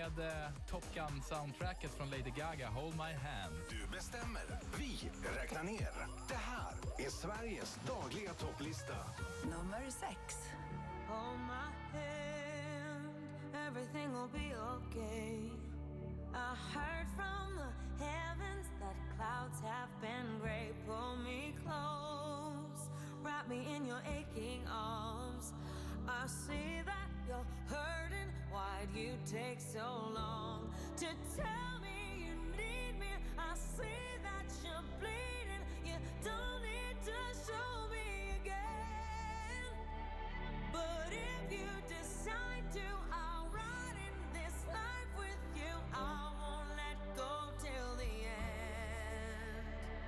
med Top Gun-soundtracket från Lady Gaga, Hold My Hand. Du bestämmer, vi räknar ner. Det här är Sveriges dagliga topplista. Nummer 6. Hold my hand, everything will be okay. I heard from the heavens that clouds have been gray. Pull me close, wrap me in your aching arms. I see that you're hurting. Why'd you take so long to tell me you need me? I see that you're bleeding. You don't need to show me again. But if you decide to, I'll ride in this life with you. I won't let go till the end.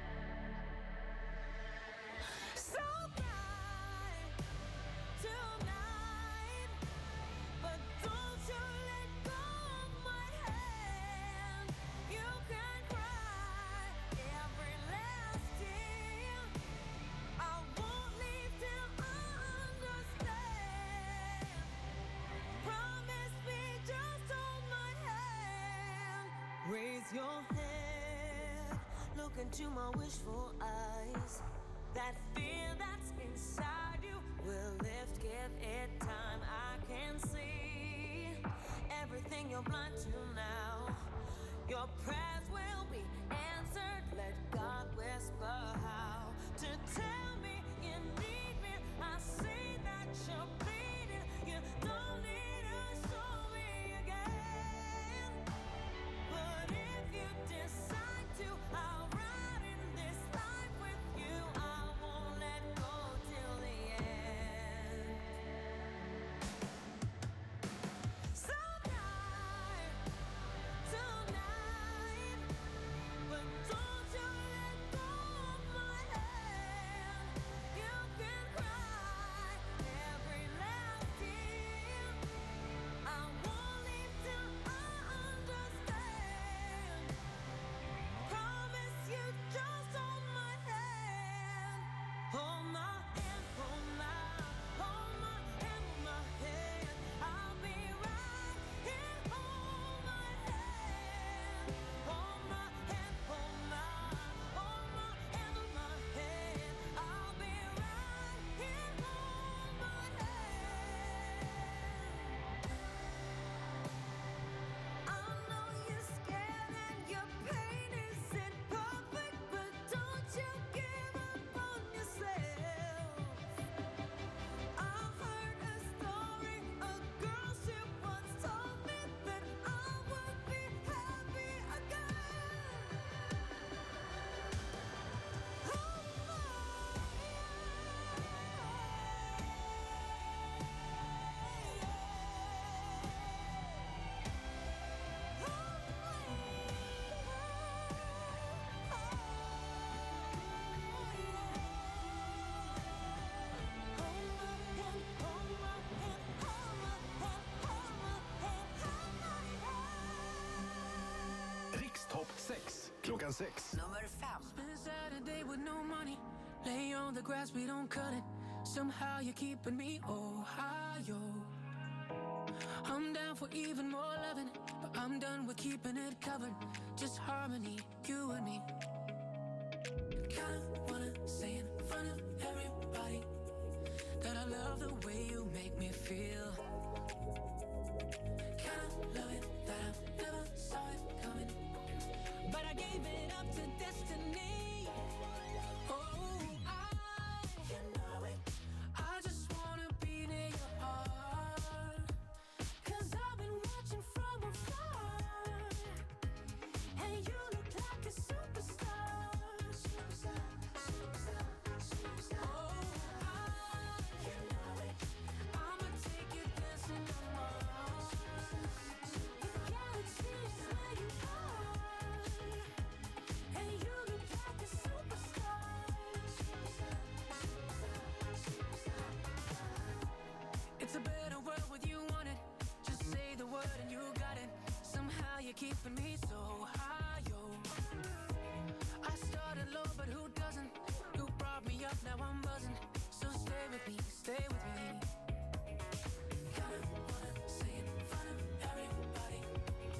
So cry tonight, but don't you let go of my hand. You can cry every last tear. I won't leave till I understand. Promise me, just hold my hand. Raise your head, look into my wishful eyes. That fear that's inside you will lift, give it time. I can see everything you're blind to now. Your prayers will be answered. Let God whisper how to tell me you need me. I see that you're bleeding. You don't need to show me again. But if you decide to, I'll ride in this life with you. I won't let go till the end. So cry tonight, but don't you let go of my hand. You can cry every last tear. I won't leave till I understand. Promise you, just hold my hand. Hold my hand, hold my hand, hold my hand. I'll be right here. Hold my hand, hold my hand, hold my hand, hold my hand. I'll be right here. Hold my hand. I know you're scared and your pain isn't perfect, but don't you give up on yourself. I heard a story, a girl she once told me that I would be happy again. Hold my Rikstopp 6, klockan 6. Nummer 5. Spend Saturday with no money. Lay on the grass, we don't cut it. Somehow you're keeping me Ohio. I'm down for even more loving, but I'm done with keeping it covered. Just harmony, you and me. Kinda wanna say in front of everybody that I love the way you make me feel. Kinda love it that I never saw it coming, but I gave it up to destiny. Oh, you know it. I just wanna be near your heart, 'cause I've been watching from afar, and you look like a superstar. Superstar, superstar, superstar. Oh, you know it. I'ma take you dancing on Mars. The galaxies where you are, and you look like a superstar. Superstar, superstar, superstar. It's a better world with you on it. Just say the word and you got it. Somehow you're keeping me so high, yo. I started low, but who doesn't? You brought me up, now I'm buzzing. So stay with me, stay with me. Kinda wanna say in front of everybody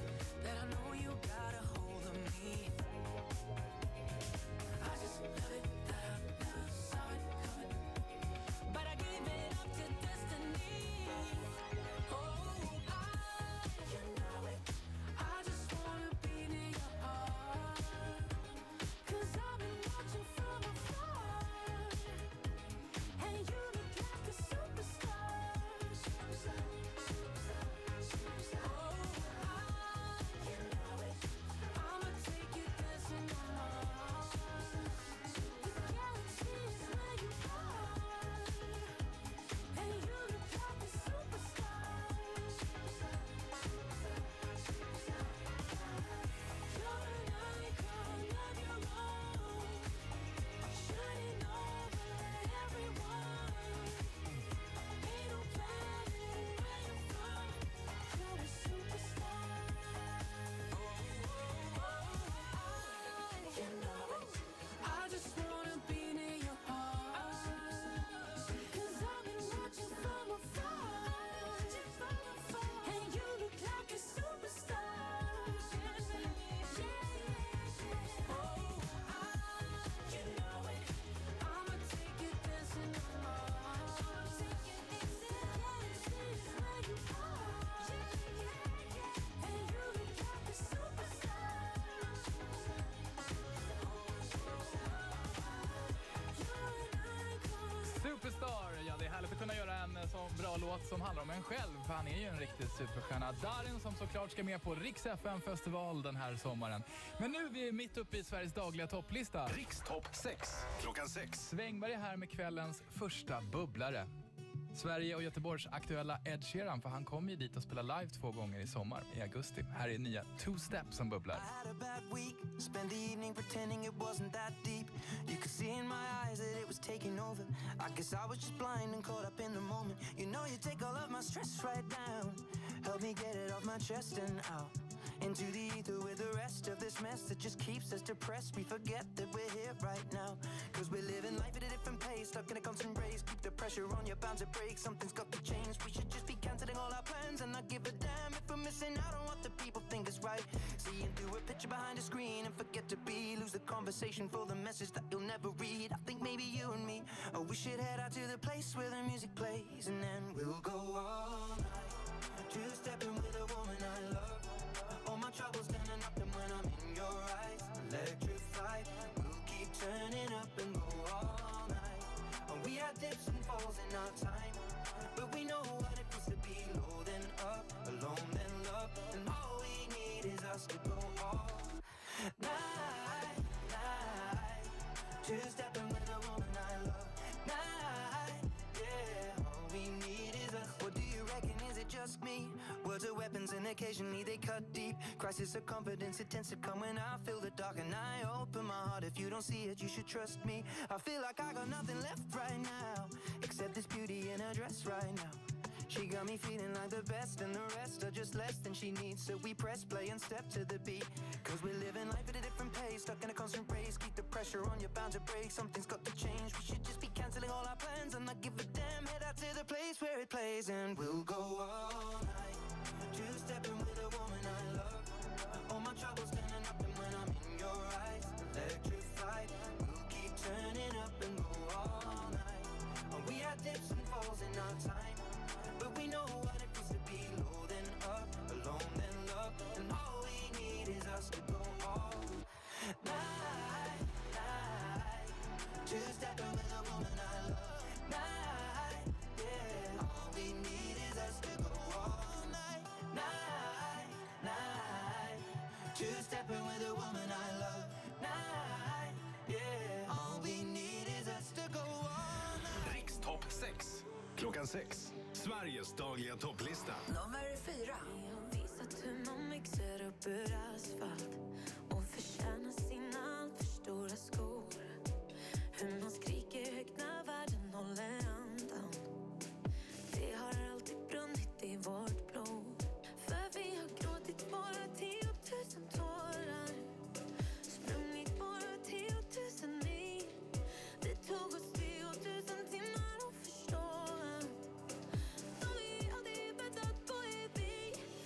väldigt bra låt som handlar om en själv, för han är ju en riktig superstjärna. Darin som såklart ska med på Rix FM-festival den här sommaren. Men nu är vi mitt uppe i Sveriges dagliga topplista. Rix topp 6, klockan 6. Svängberg är här med kvällens första bubblare. Sverige och Göteborgs aktuella Ed Sheeran, för han kommer ju dit och spelar live 2 gånger i sommar i augusti. Här är nya Two Step som bubblar. I had a bad week, spent the evening pretending it wasn't that deep. You could see in my eyes that it was taking over. I guess I was just blind and caught up in the moment. You know you take all of my stress right down. Help me get it off my chest and out into the ether with the rest of this mess that just keeps us depressed. We forget that we're here right now, cause we're living life at a different pace, stuck in a constant race. Keep the pressure on, you're bound to break. Something's got to change. We should just be cancelling all our plans and not give a damn if we're missing out on what the people think is right. Seeing through a picture behind a screen and forget to be, lose the conversation for the message that you'll never read. I think maybe you and me, oh, we should head out to the place where the music plays, and then we'll go all night, two-stepping with a woman I love. All my troubles standing up, and when I'm in your eyes, electrified. We'll keep turning up and go all night. And we had dips and falls in our time, but we know what it feels to be low then up, alone then love. And all we need is us to go all night, night. Two-stepping with a woman I love. Night, yeah. All we need is us. What do you reckon? Is it just me? Words are weapons and occasionally they cut deep. Crisis of confidence, it tends to come when I feel the dark and I open my heart. If you don't see it, you should trust me. I feel like I got nothing left right now, except this beauty in her dress right now. She got me feeling like the best, and the rest are just less than she needs. So we press play and step to the beat, cause we're living life at a different pace, stuck in a constant race. Keep the pressure on, you're bound to break. Something's got to change. We should just be cancelling all our plans and not give a damn. Head out to the place where it plays, and we'll go all night, two-stepping with a woman I love. All my troubles standing up, and when I'm in your eyes, electrified. We'll keep turning up and go all night. And we had dips and falls in our time, but we know what it feels to be low then up, alone then love. And all we need is us to go all night, night. Two-stepping with a woman I love. Night, yeah. All we need is us to go all night, night, night. Two-stepping with a woman I love. Night, yeah. All we need is us to go all night. Rix topp 6, klockan 6. Sveriges dagliga topplista. Nummer 4. Visat hur man mixar upp ur asfalt och förtjänar sina allt för stora skor. Hur man skriker högt när världen håller andan. Det har alltid brunnit i vårt blod. För vi har gråtit våra 10 000 tårar, sprungit våra 10 000 mil. Det tog oss 10 000 timmar att förstå att de vi aldrig väntat på är vi.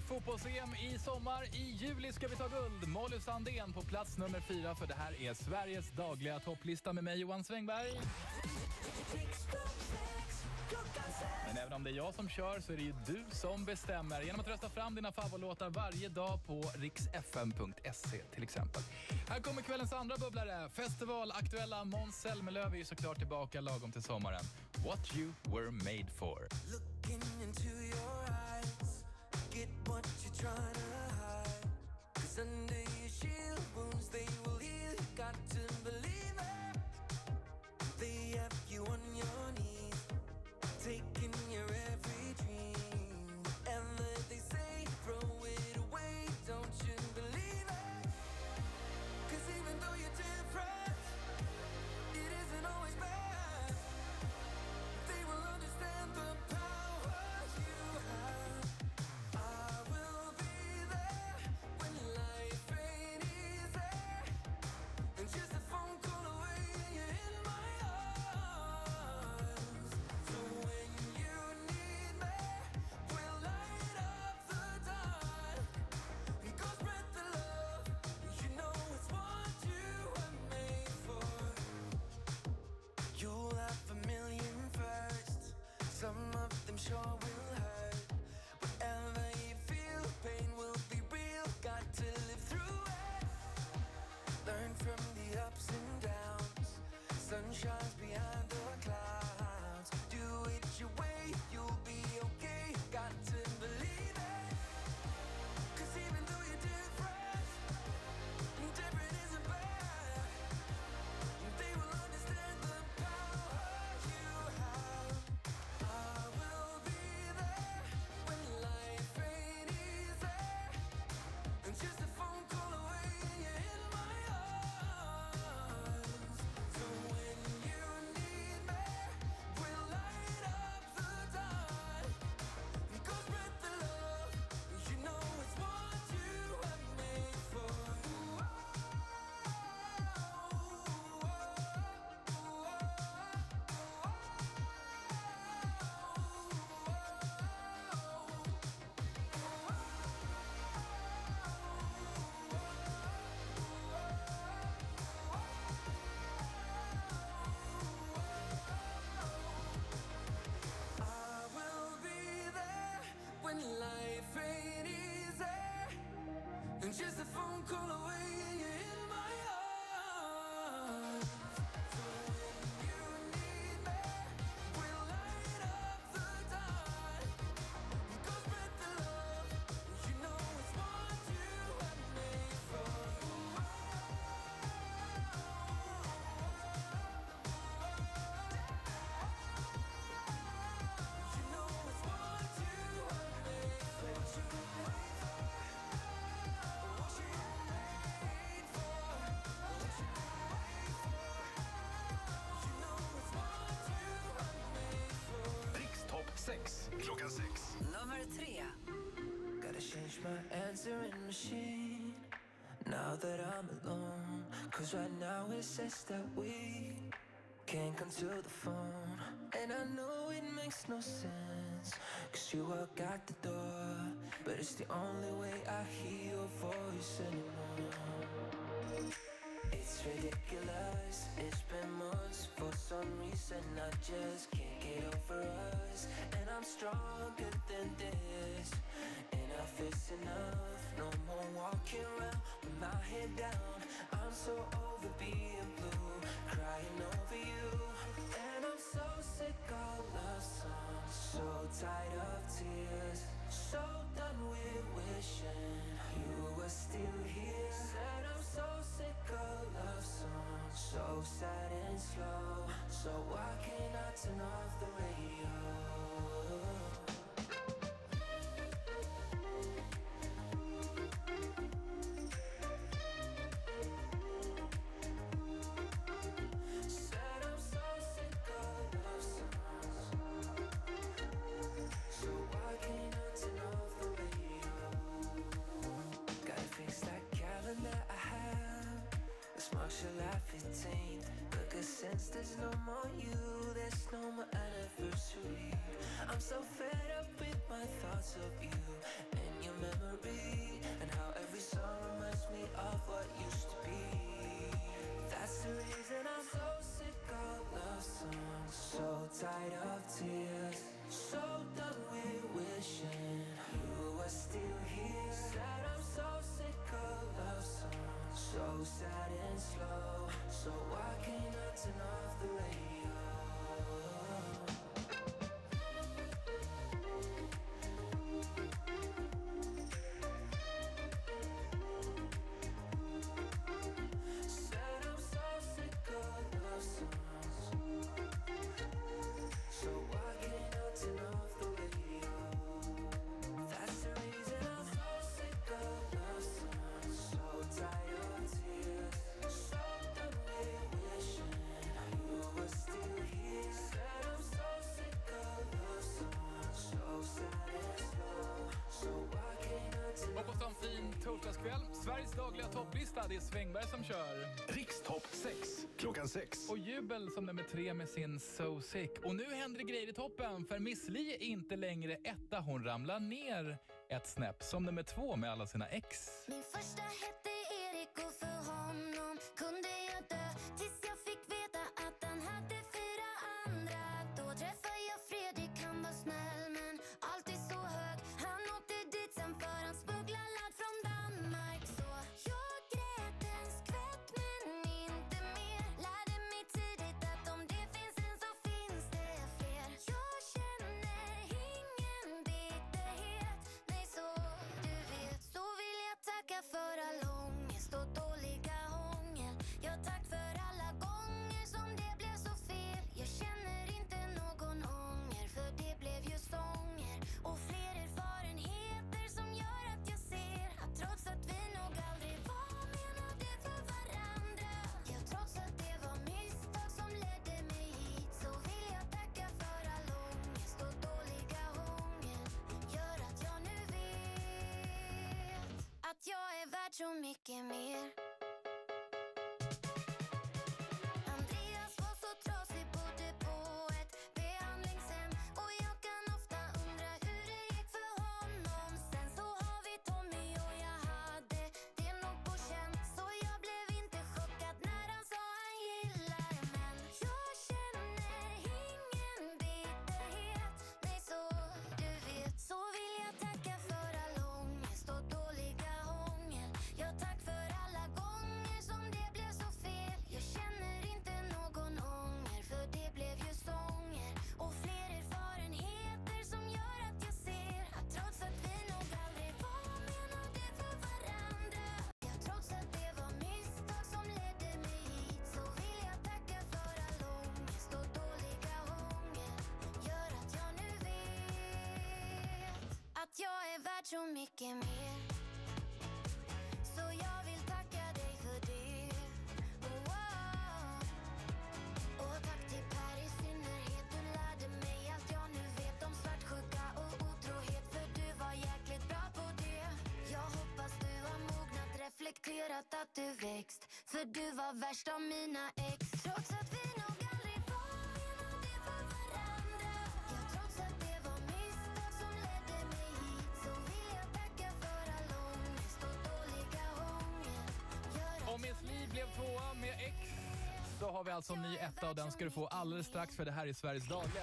fotbolls-EM i sommar. I juli ska vi ta guld. Molly Sandén på plats nummer 4, för det här är Sveriges dagliga topplista med mig, Johan Svängberg. Men även om det är jag som kör så är det ju du som bestämmer genom att rösta fram dina favoritlåtar varje dag på riksfm.se till exempel. Här kommer kvällens andra bubblare. Festivalaktuella Måns Zelmerlöw är ju såklart tillbaka lagom till sommaren. What you were made for. Looking into your eyes, get what you're trying to hide. 'Cause under your shield wounds they will heal. You got to believe it. They have you on your knees, taking your every dream. Whatever they say, throw it away. Don't you believe it? 'Cause even though you're different, it isn't always bad. They will understand the power you have. I will be there when life ain't easy. And just a phone call away and you're in my arms. So when you need me, we'll light up the dark. And go spread the love. You know it's what you were made for. You'll have a million firsts. Some of them sure will hurt. Whatever you feel, pain will be real. Got to live through it. Learn from the ups and downs. Sun shines behind the clouds. Do it your way, you'll be okay. Got to believe it. 'Cause even though you're different, different isn't bad. They will understand the power you have. I will be there when life ain't easy. And just a phone call away and you're in my arms. So when you need me, we'll light up the dark. And go spread the love. You know it's what you were made for. I will be there when life ain't easy. And just a phone call away and you're in my arms. So when you need me, we'll light up the dark. And go spread the love. You know it's what you were made for. You know it's what you were made for. What you were made for. What you were made for. What you were made for. You know it's what you were made for. Rikstopp 6 klockan 6. Nummer 3. Gotta change my answering machine now that I'm alone. 'Cause right now it says that we can't come to the phone. And I know it makes no sense, 'cause you walk out the door. But it's the only way I hear your voice anymore. It's ridiculous, it's been months. For some reason I just can't get over us. And I'm stronger than this. Enough is enough, no more walking around with my head down. I'm so over being blue, crying over you. And I'm so sick of love songs, so tired of tears. So done with wishing you were still here. Said I'm so sick of love songs, so sad and slow. So why can't I turn off the radio? Said I'm so sick of love songs, so why can't I turn off the radio? Gotta fix that calendar I have. It's March, July 15th. But 'cause since there's no more you, there's no more my thoughts of you and your memory, and how every song reminds me of what used to be. That's the reason I'm so sick of love songs, so tired of tears, so done with wishing you were still here. Said I'm so sick of love songs, so sad and slow. So why can't I turn off the radio? Said I'm so sick of love songs, so why can't I turn off the radio? That's the reason I'm so sick of love songs, so tired of tears, so done with wishing you were still here. Said I'm so sick of love songs, so sad and slow. So why can't I turn Och på en fin torsdagskväll, Sveriges dagliga topplista, det är Svängberg som kör. Rikstopp 6 klockan 6. Och Jubel som nummer 3 med sin So Sick. Och nu händer det grejer i toppen, för Miss Li är inte längre etta. Hon ramlar ner ett snäpp som nummer 2 med alla sina ex. Min första hette Erik och för honom kunde jag dö tills jag fick veta att han hade 4 andra. Då träffade jag Fredrik, han var snäll men alltid så hög. Han åkte dit sen för han smugglade ladd från Danmark. Så jag grät en skvätt men inte mer. Lärde mig tidigt att om det finns en så finns det fler. Jag känner ingen bitterhet, nej så du vet. Så vill jag tacka för all ångest och dåliga hångel. Ja, tack för alla gånger som det blev så fel. Jag känner inte någon ånger, för det blev ju sånger och fler erfarenheter som gör att jag ser att trots att vi nog aldrig var menade för varandra, ja, trots att det var misstag som ledde mig hit, så vill jag tacka för all ångest och dåliga hångel. Gör att jag nu vet att jag är värd så mycket mer. Andreas var så trasig, bodde på ett behandlingshem, och jag kan ofta undra hur det gick för honom. Sen så har vi Tommy och jag hade det nog på känn, så jag blev inte chockad när han sa han gillar män. Jag känner ingen bitterhet, nej så du vet. Så vill jag tacka för all ångest och dåliga hångel. Ja, tack för alla gånger som det blev så fel. Jag känner inte någon ånger, för det blev ju sånger och fler erfarenheter som gör att jag ser att trots att vi nog aldrig var menade för varandra, ja, trots att det var misstag som ledde mig hit, så vill jag tacka för all ångest och dåliga hångel. Gör att jag nu vet att jag är värd så mycket mer. Så jag vill tacka dig för det. Oh, oh. Och tack till Per i synnerhet. Du lärde mig allt jag nu vet om svartsjuka och otrohet, för du var jäkligt bra på det. Jag hoppas du har mognat, reflekterat, att du växt, för du var värst av mina ex. Trots att vi nog aldrig var menade för varandra, ja, trots att det var misstag som ledde mig hit, så vill jag tacka för all ångest och dåliga hångel. Gör att Och Miss Li blev 2 med ex. Så har vi alltså en ny etta, och den ska du få alldeles strax, för det här är Sveriges dagliga.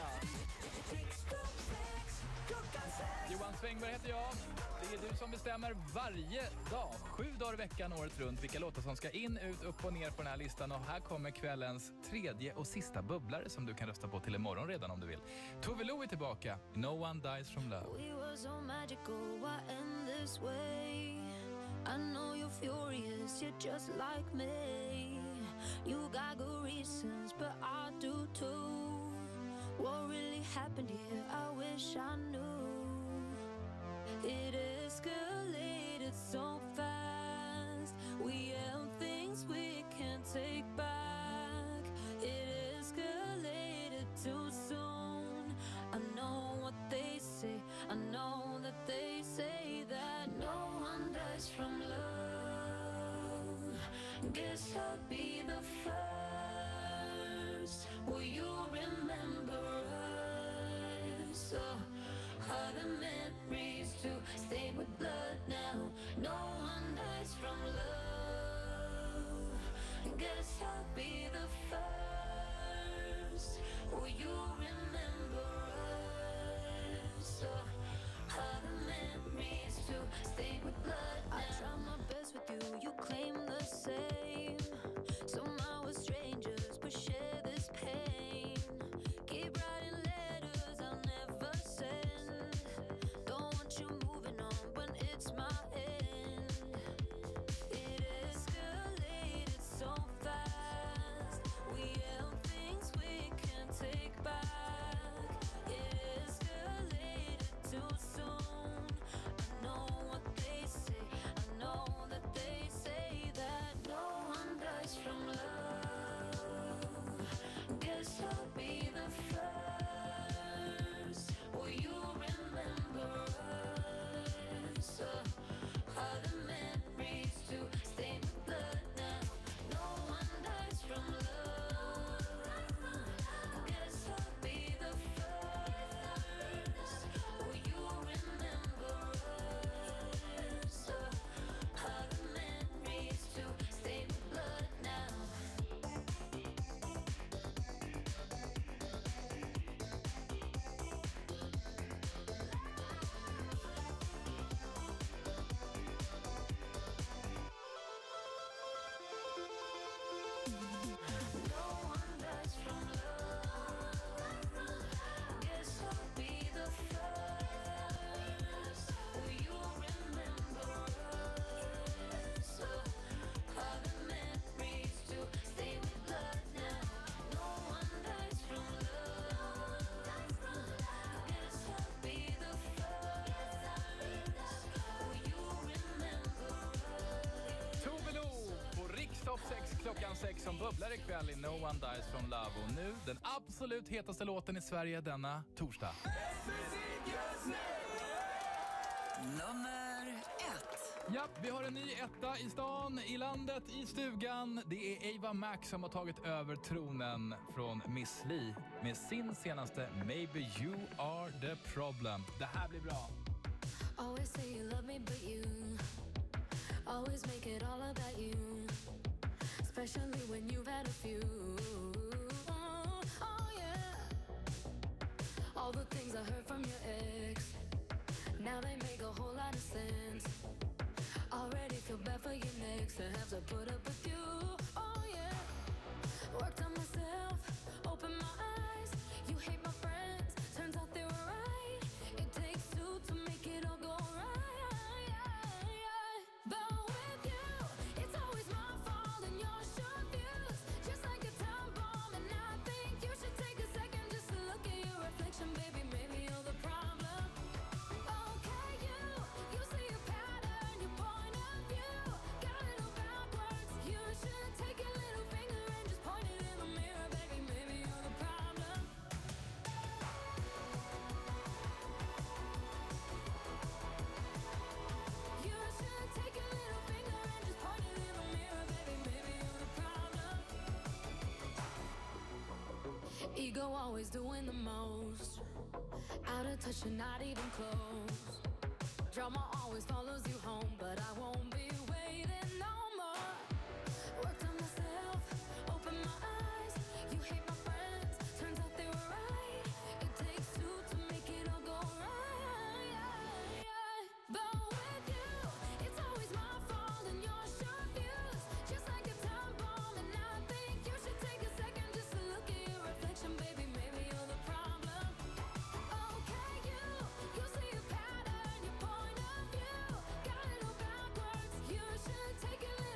Johan Svängberg heter jag. Det är du som bestämmer varje dag, 7 dagar i veckan, året runt, vilka låtar som ska in, ut, upp och ner på den här listan. Och här kommer kvällens 3:e och sista bubblare som du kan rösta på till imorgon redan om du vill. Tove Lo är tillbaka. No One Dies From Love. we were so magical, why end this way? I know you're furious, you're just like me. You got good reasons, but I do too. What really happened here? I wish I knew. It escalated so fast. We held things we can't take back. It escalated too soon. I know what they say. I know that they say that no one dies from love. Guess I'll be the first. Will you remember us? Are the memories to stain with blood now? No one dies from love. Guess I'll be the first. Will you remember us? Are the memories to stain with blood now? I try my best with you, you claim the same. Somehow we're strangers, but share this pain. Keep writing letters I'll never send. Don't want you moving on when it's my end. It escalated so fast. We held things we can't take back. It escalated too soon. I know what they say. I know that they say that no one dies from love. Guess I'll be the first. Will you remember us? Are the memories to stain with blood now? No one dies from love. Guess I'll be the first. Will you remember us? Are the memories to stain with blood now? No one dies from love. Guess I'll be the first. Will you remember us? Are the memories to stay with blood now? No one dies from love. Guess I'll be the first. Will you remember us? Tove Lo på Rikstopp 6 klockan 6 som bubblar ikväll i No One Dies From Love. Och nu den absolut hetaste låten i Sverige denna torsdag. Nummer 1. Ja, vi har en ny etta i stan, i landet, i stugan. Det är Ava Max som har tagit över tronen från Miss Li med sin senaste Maybe You Are The Problem. Det här blir bra. Always say you love me, but you always make it all about you. Especially when you've had a few. Oh yeah. All the things I heard from your ex, now they make a whole lot of sense. Already feel bad for you next to have to put up with you. Oh yeah. Worked on myself, open my eyes. You hate my friends, turns out they were right. It takes two to make it all go right. But with you, it's always my fault and your short views, just like a time bomb. And I think you should take a second just to look at your reflection, baby. Maybe you're the problem. Okay, you see a pattern, your point of view got it all backwards. You should take your little finger and just point it in the mirror, baby. Maybe you're the problem. You should take your little finger and just point it in the mirror, baby. Maybe you're the problem. Ego always doing the most. Out of touch and not even close. Drama always follows you home, but I won't be waiting no more. Worked on myself, open my eyes. You hate my friends, turns out they were right. It takes two to make it all go right. But with you, it's always my fault and your short views, just like a time bomb. And I think you should take a second just to look at your reflection, baby. Maybe you're the problem. Okay, you see a pattern, your point of view got it all backwards. You should take a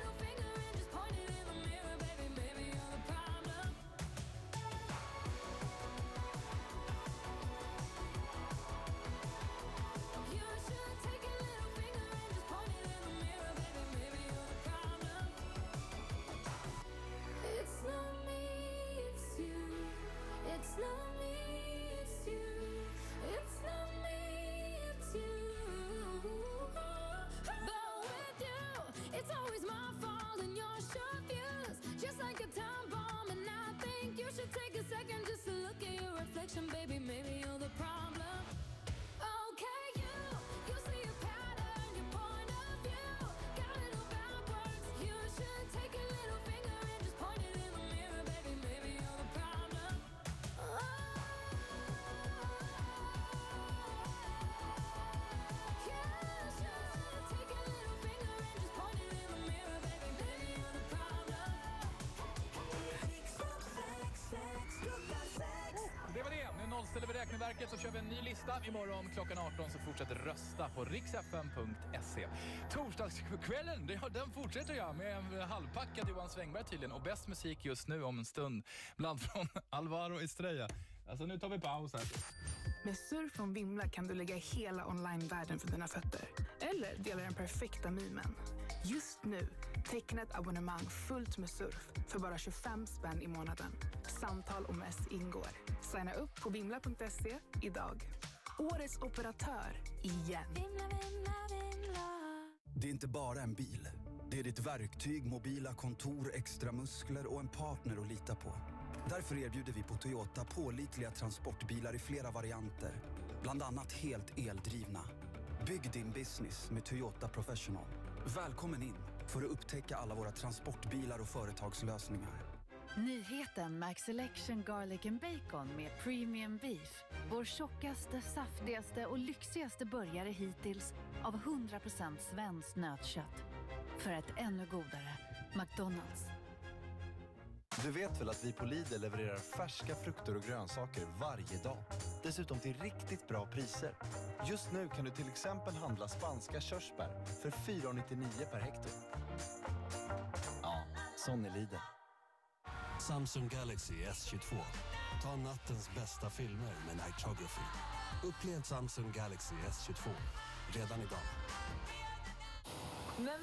märket så kör vi en ny lista. Imorgon klockan 18 så fortsätter rösta på riksfm.se. Torsdagskvällen, den fortsätter jag med en halvpackad Johan Svängberg tydligen. Och bäst musik just nu om en stund. Bland från Alvaro Estrella. Alltså nu tar vi paus här. Med surf från Vimla kan du lägga hela online-världen för dina fötter. Eller dela den perfekta mimen. Just nu, teckna ett abonnemang fullt med surf för bara 25 spänn i månaden. Samtal och mess ingår. Signa upp på vimla.se idag. Årets operatör, igen. Vimla, vimla, vimla. Det är inte bara en bil. Det är ditt verktyg, mobila kontor, extra muskler och en partner att lita på. Därför erbjuder vi på Toyota pålitliga transportbilar i flera varianter. Bland annat helt eldrivna. Bygg din business med Toyota Professional. Välkommen in för att upptäcka alla våra transportbilar och företagslösningar. Nyheten Max Selection Garlic and Bacon med Premium Beef. Vår tjockaste, saftigaste och lyxigaste burgare hittills av 100% svenskt nötkött. För ett ännu godare McDonald's. Du vet väl att vi på Lidl levererar färska frukter och grönsaker varje dag. Dessutom till riktigt bra priser. Just nu kan du till exempel handla spanska körsbär för 4,99 per hekto. Ja, sån är Lidl. Samsung Galaxy S22. Ta nattens bästa filmer med Nightography. Upplev Samsung Galaxy S22 redan idag.